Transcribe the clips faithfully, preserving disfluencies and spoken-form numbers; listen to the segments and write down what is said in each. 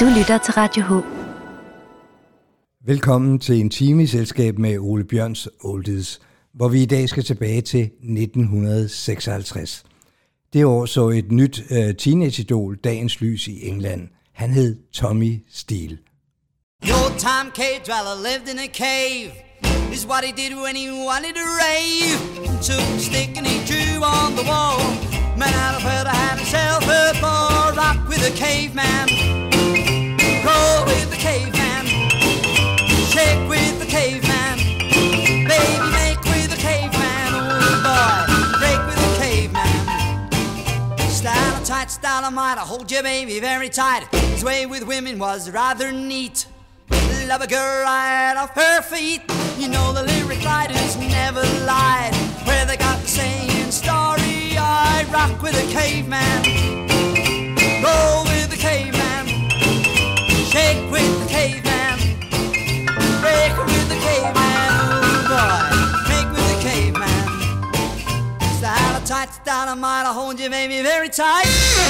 Du lytter til Radio H. Velkommen til en time i selskab med Ole Bjørns Oldies, hvor vi i dag skal tilbage til nitten seksoghalvtreds. Det år så et nyt uh, teenage-idol dagens lys i England. Han hed Tommy Steele. The old time cave dweller lived in a cave. This is what he did when he wanted to rave. Took a stick and he drew on the wall. Man out of her to have himself a ball. Rock with the caveman. Roll with the caveman. Shake with the caveman. Baby make with the caveman. Oh boy, break with the caveman. Style tight, style of might. I hold your baby very tight. His way with women was rather neat. Love a girl right off her feet. You know the lyric writers never lied. Where they got the saying story. I rock with a caveman. Roll with the caveman. Shake with the caveman. Break with the caveman. Oh boy, make with the caveman. Style of tight, style of mine. I'll hold you baby very tight.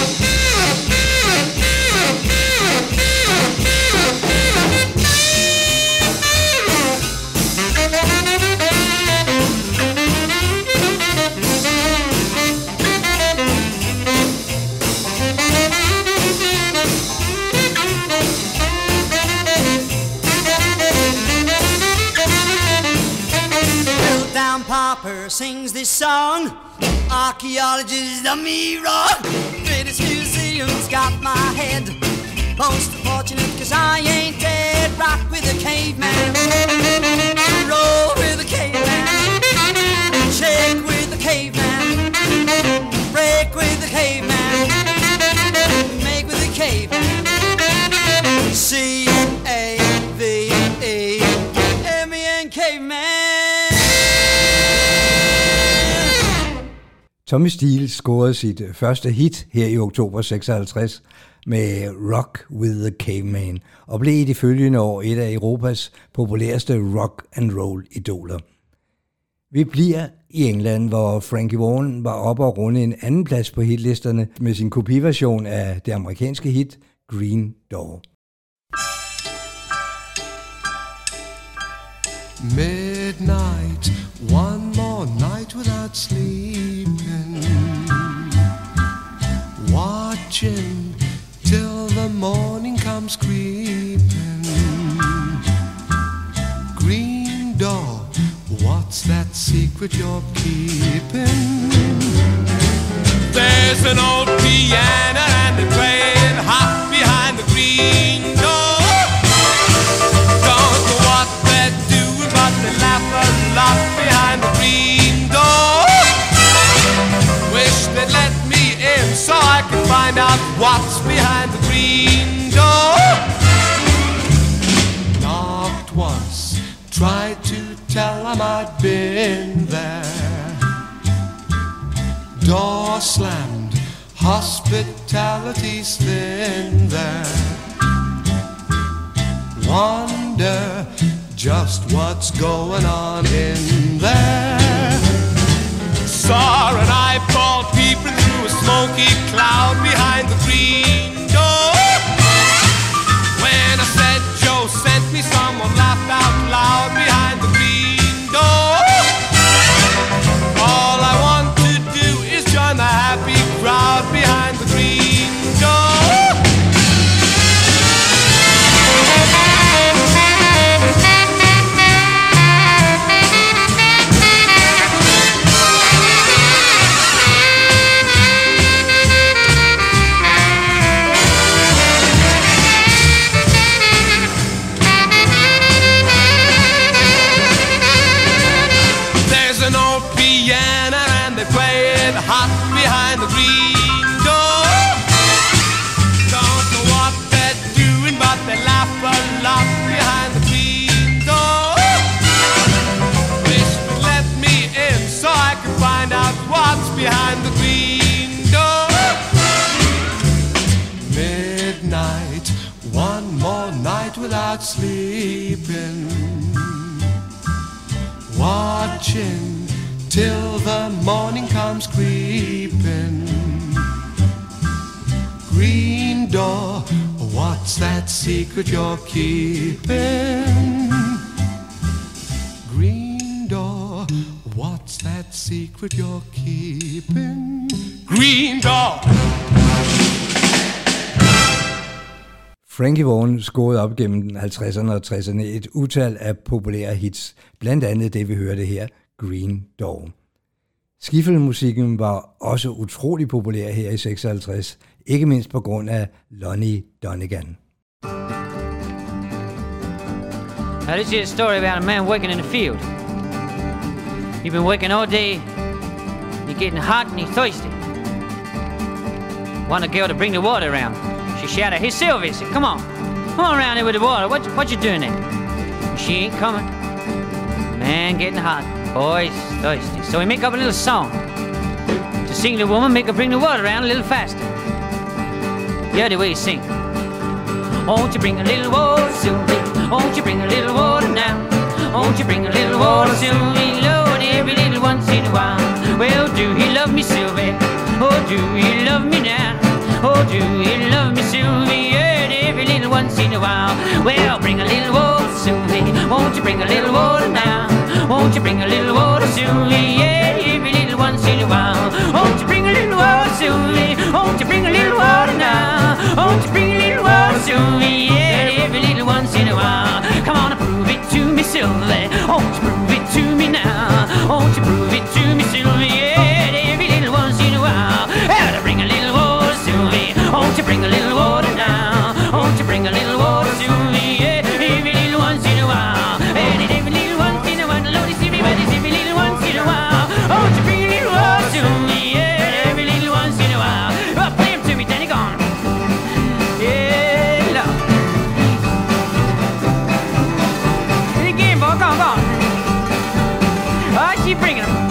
Popper sings this song. Archaeologists done me wrong. British Museum's got my head. Most fortunate cause I ain't dead. Rock with a caveman. Roll with a caveman. Shake with the caveman. Break with the caveman. Make with the caveman. C A V E M E N caveman. Tommy Steele scorede sit første hit her i oktober seksoghalvtreds med Rock with the Caveman og blev i de følgende år et af Europas populæreste rock and roll idoler. Vi bliver i England, hvor Frankie Vaughan var oppe og runde en anden plads på hitlisterne med sin kopiversion af det amerikanske hit Green Door. Midnight, one more night without sleeping, watching till the morning comes creeping. Green door, what's that secret you're keeping? There's an old piano and they're playing hot behind the green door. Don't know what they're doing, but they laugh a lot behind the green door. Wish they'd let me in so I can find out what's behind the green door. Knocked once, tried to tell them I'd been there. Door slammed, hospitality's thin there. Wonder just what's going on in there. Saw an eyeball peeping through a smoky cloud behind the green door. When I said Joe sent me, someone laughed out loud behind the green door. All I want to do is join the happy crowd behind the green door. Hot behind the green door. Don't know what they're doing, but they laugh a lot behind the green door. Wish they'd let me in so I can find out what's behind the green door. Midnight, one more night without sleeping, watching till the morning comes creeping. Green door, what What's that secret you're keeping? Green door, what's that secret you're keeping? Green door. Frankie Vaughan scorede op gennem halvtredserne og tresserne et utal af populære hits, blandt andet det vi hørte her, Green Door. Skiffle-musikken var også utrolig populær her i seksoghalvtreds, ikke mindst på grund af Lonnie Donegan. Now this is a story about a man working in the field. You've been working all day, you're getting hot and you're thirsty. Want a girl to bring the water around. She shouted, "Hey Sylvia," said, "Come on, come on around here with the water. What, what you doing there?" And she ain't coming. Man getting hot, boy's thirsty. So he make up a little song to sing the woman, make her bring the water around a little faster. Yeah, the way he sing. Won't you bring a little water, Sylvie? Won't you bring a little water now? Won't you bring a little water, Sylvie? Lord, every little once in a while. Well, do he love me, Sylvie? Oh, do he love me now? Oh, do he love me, Sylvie? Yeah, every little once in a while. Well, bring a little water, Sylvie. Won't you bring a little water now? Won't you bring a little water, Sylvie? Yeah, every little once in a while. Won't you bring a little water, Sylvie? Won't you bring a little water now? Won't you bring a little water, Sylvie? Yeah, every little once in a while. Come on and prove it to me, Sylvie. Won't you prove it to me now? Won't you prove it to me, Sylvie? Yeah, every little once in a while. Yeah, bring a little water, Sylvie. Won't you bring a little water now? Won't you bring a little water, Sylvie? Yeah, every little once in a while. And every little once in a while, Lord, it's every every little once in a while. Won't you bring a little water to me? Yeah, every little once in a while. Oh, play him to me, Danny, go on. Yeah, Lord. And again, boy, go on, go on. Oh, she bringing him.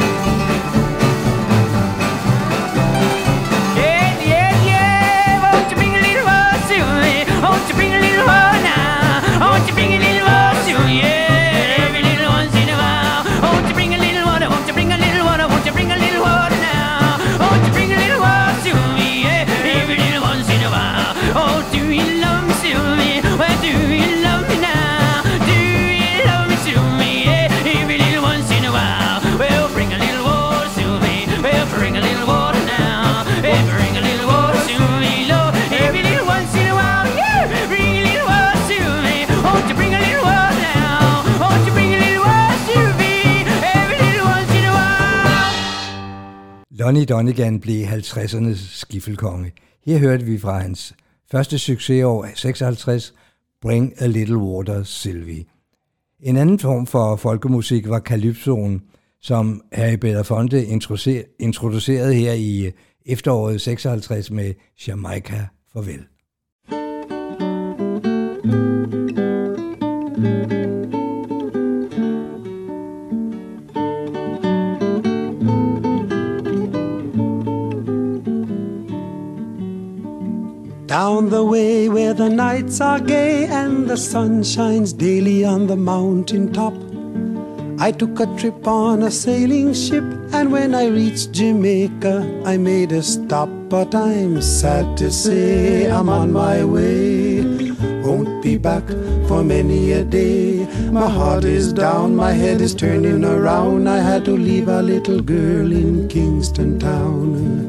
Yeah, yeah, yeah. Won't you bring a little water to me? Won't you bring a little water now? Won't you bring a little water to me? Yeah, every little once in a while. Won't you bring a little water? Won't you bring a little water? Won't you bring a little water now? Won't you bring a little water to me? Yeah, every little once in a while. Oh, do you love me, Sylvie? Well, do you love me now? Do you love me, Sylvie? Yeah, every little once in a while. Well, bring a little water, Sylvie. Well, bring a little water now. Yeah, bring a little water, Sylvie. Lord, every little once in a while. Yeah, bring a little water, Sylvie. Won't you bring a little water now? Won't you bring a little water, Sylvie? Every little once in a while. Lonnie Donegan blev halvtredsernes skiffelkonge. Her hørte vi fra hans første succesår seksoghalvtreds, Bring a Little Water, Sylvie. En anden form for folkemusik var calypsoen, som Harry Belafonte introducerede her i efteråret seksoghalvtreds med Jamaica Farvel. Down the way where the nights are gay and the sun shines daily on the mountain top, I took a trip on a sailing ship, and when I reached Jamaica I made a stop. But I'm sad to say I'm on my way, won't be back for many a day. My heart is down, my head is turning around. I had to leave a little girl in Kingston town.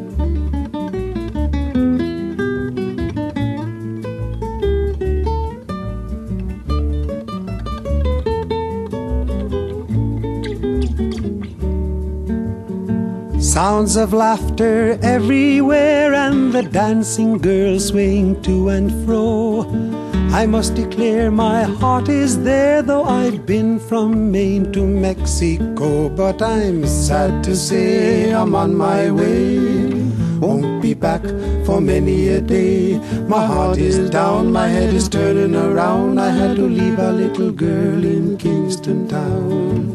Sounds of laughter everywhere and the dancing girls swaying to and fro. I must declare my heart is there, though I've been from Maine to Mexico. But I'm sad to say I'm on my way, won't be back for many a day. My heart is down, my head is turning around. I had to leave a little girl in Kingston town.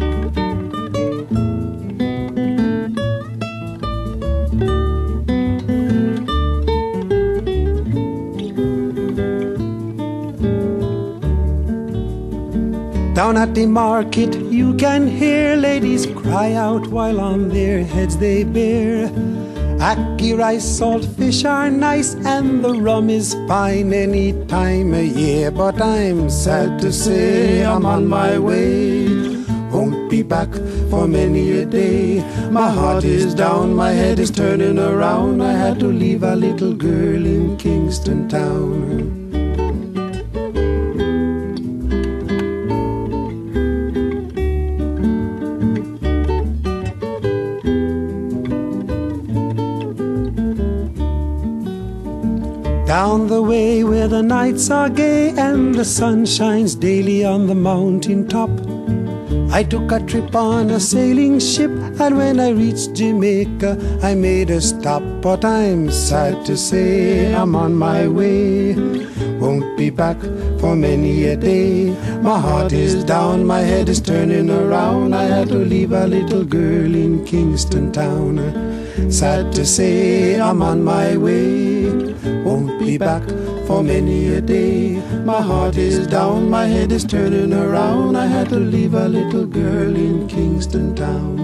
Down at the market you can hear ladies cry out while on their heads they bear. Ackee rice, salt fish are nice, and the rum is fine any time of year. But I'm sad to say I'm on my way. Won't be back for many a day. My heart is down, my head is turning around. I had to leave a little girl in Kingston town. Down the way where the nights are gay and the sun shines daily on the mountain top, I took a trip on a sailing ship, and when I reached Jamaica I made a stop. But I'm sad to say I'm on my way. Won't be back for many a day. My heart is down, my head is turning around. I had to leave a little girl in Kingston town. Sad to say I'm on my way. Won't be back for many a day. My heart is down, my head is turning around. I had to leave a little girl in Kingston town.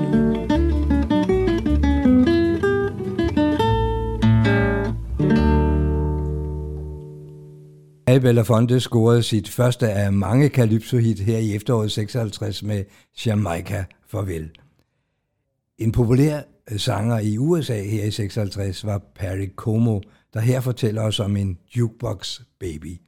Harry Belafonte scorede sit første af mange calypso-hit her i efteråret seksoghalvtreds med Jamaica Farvel. En populær sanger i U S A her i seksoghalvtreds var Perry Como, der her fortæller os om en jukebox baby.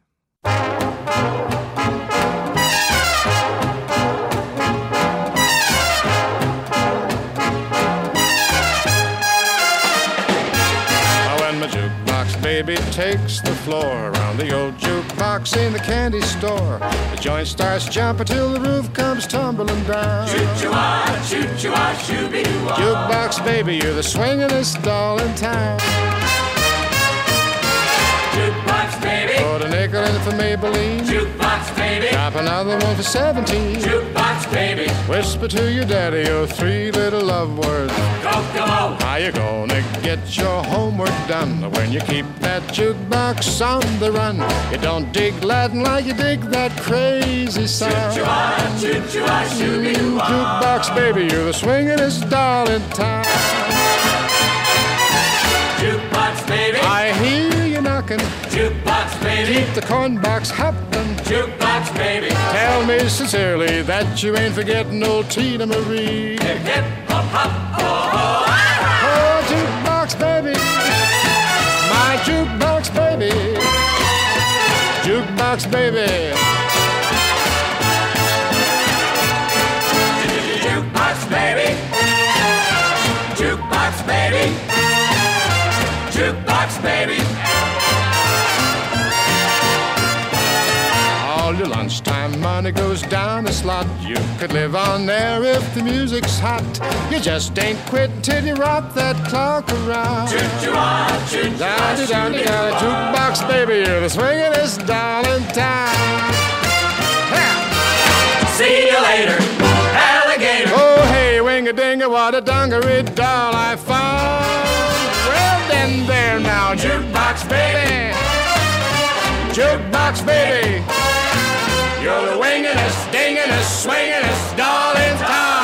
Baby takes the floor around the old jukebox in the candy store. The joint starts jumping till the roof comes tumbling down. Choo-choo-ah, choo-choo-ah, shoo-be-doo-ah. Jukebox baby, you're the swingin'est doll in town. Jukebox baby, put a nickel in for Maybelline. Jukebox baby, drop another one for seventeen. Jukebox baby, whisper to your daddy your three little love words. Kokomo, how you gonna get your homework done when you keep that jukebox on the run? You don't dig Latin like you dig that crazy sound. Choo-choo-ah, choo-choo-ah, shoo-be-doo-ah. Jukebox baby, you're the swingin'est doll in town. Jukebox baby, I hear you knocking. Jukebox baby, keep the corn box hopping. Jukebox baby, tell me sincerely that you ain't forgetting old Tina Marie. Hip hip hop hop, oh oh ah. Oh, jukebox baby, my jukebox baby, jukebox baby. Jukebox baby, jukebox baby, jukebox baby. All your lunchtime money goes down the slot. You could live on there if the music's hot. You just ain't quit till you rock that clock around. Choo-choo-ah, choo-choo-ah, down, down, down, jukebox baby, you're the swingin'est doll in town. Yeah. See you later, alligator. Oh hey, wing-a-ding-a, what a dungaree doll I found. Well then there now, jukebox baby, jukebox baby, you're the wingingest, dingingest, swingingest doll in town.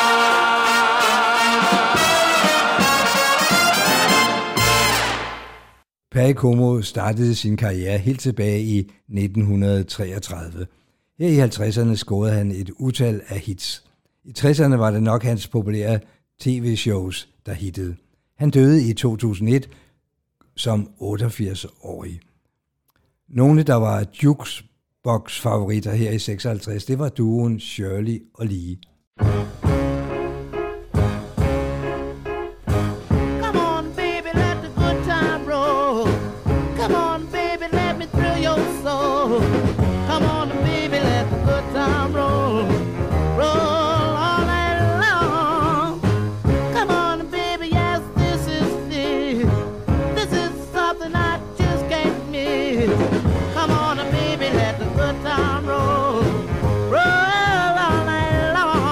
Perry Como startede sin karriere helt tilbage i nitten treogtredive. Her i halvtredserne scorede han et utal af hits. I tresserne var det nok hans populære tv-shows, der hittede. Han døde i to tusind og et som otteogfirs-årig. Nogle, der var jukebox-favoritter her i seksoghalvtreds, det var duoen Shirley og Lee. Roll all night long.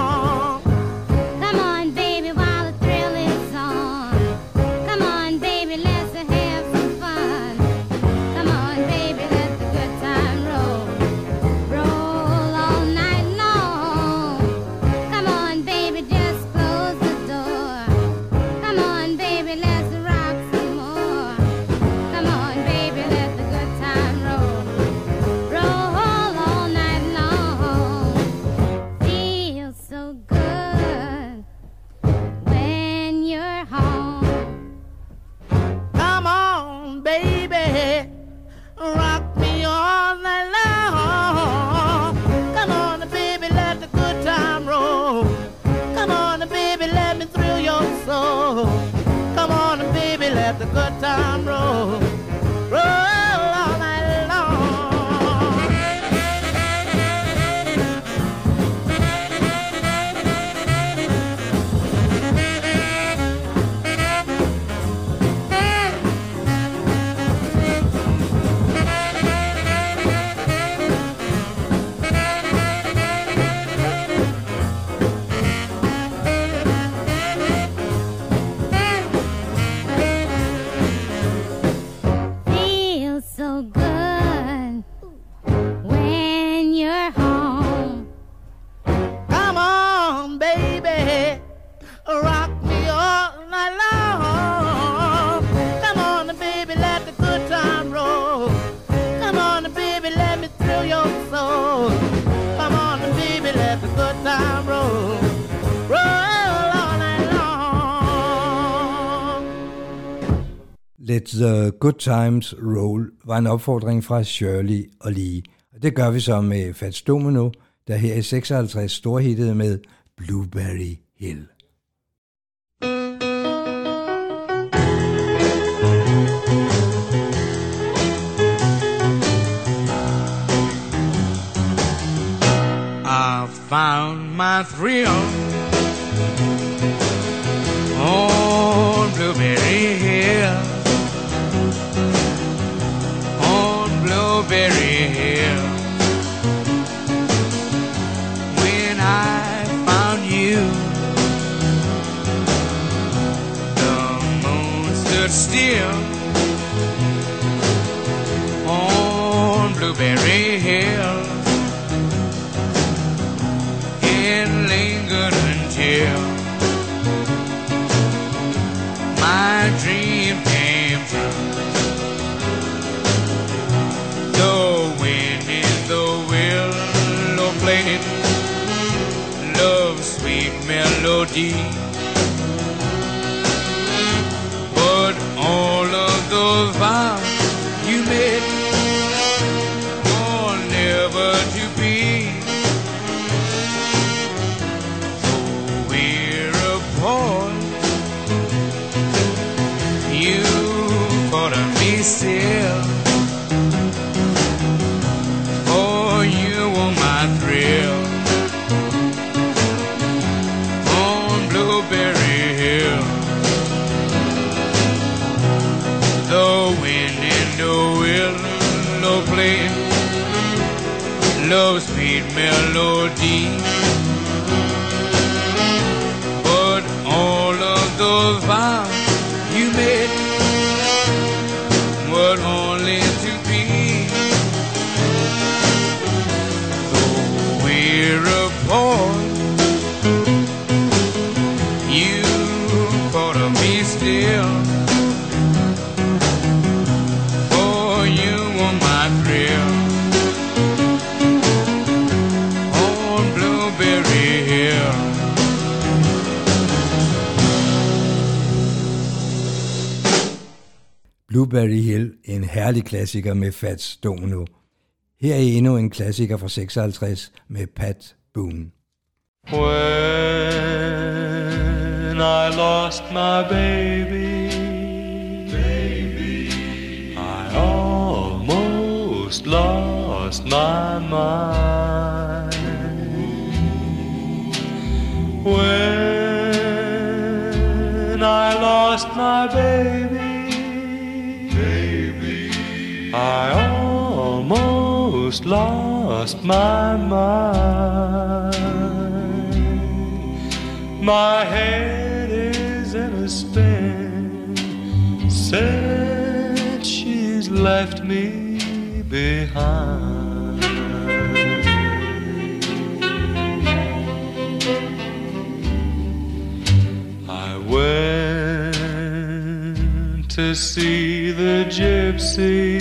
Let the Good Times Roll var en opfordring fra Shirley og Lee. Og det gør vi så med Fats Domino, der her i seksoghalvtreds storhittede med Blueberry Hill. I found my thrill on Blueberry Hill, on Blueberry Hill. When I found you, the moon stood still on Blueberry Hill. It lingered until my dream came true. The wind in the willow played love's sweet melody, but all of those vows you made were never to be. You thought of me still, oh, you were my thrill on Blueberry Hill. The wind in the willow played love's sweet melody, but all of those vows you made were only to be. Though we're apart, you thought of me still, oh, you were my thrill on Blueberry Hill. Blueberry Hill, en herlig klassiker med Fats Domino. Her er endnu en klassiker fra seksoghalvtreds med Pat Boone. When I lost my baby, baby, I almost lost my mind. When I lost my baby, I almost lost my mind. My head is in a spin since she's left me behind. I went to see the gypsy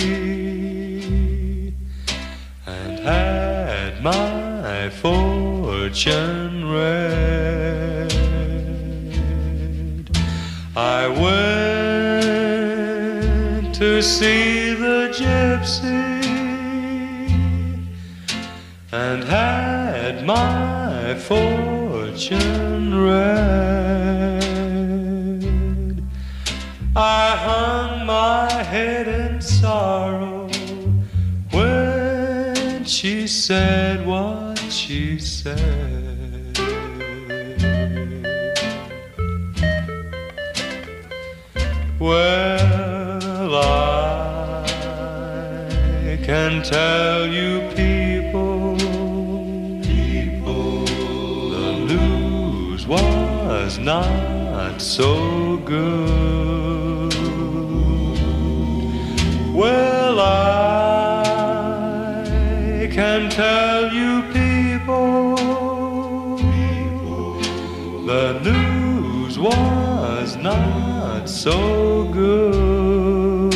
and had my fortune read. I went to see the gypsy and had my fortune read. I hung my head in sorrow when she said what she said. Well, I can tell you people, people, the news was not so good. Well, I can tell you people, people, the news was not so good.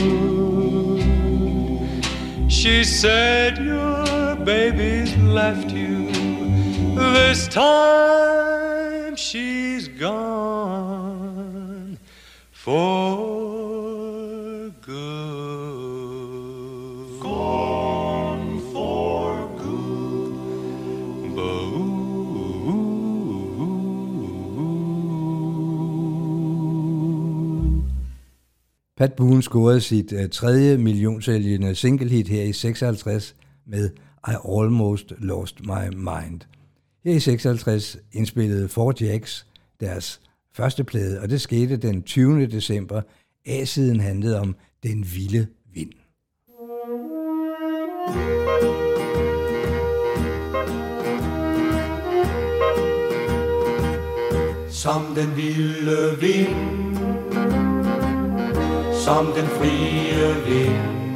She said your baby's left you, this time she's gone for Pat Boone scorede sit uh, tredje millionsælgende singlehit her i seksoghalvtreds med I Almost Lost My Mind. Her i seksoghalvtreds indspillede Four Jacks deres første plade, og det skete den tyvende december. A-siden handlede om Den vilde vind. Som den vilde vind, som den frie vind,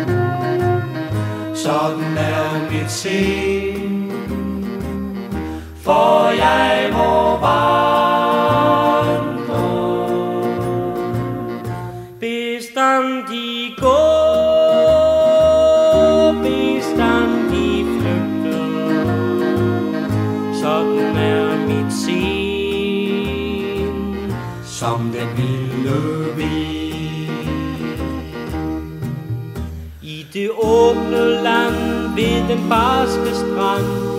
sådan er mit sind, for jeg må vandre bestandig gå, bestandig flygte, sådan er mit sind, som den vilde vind. I det åbne land ved den barske strand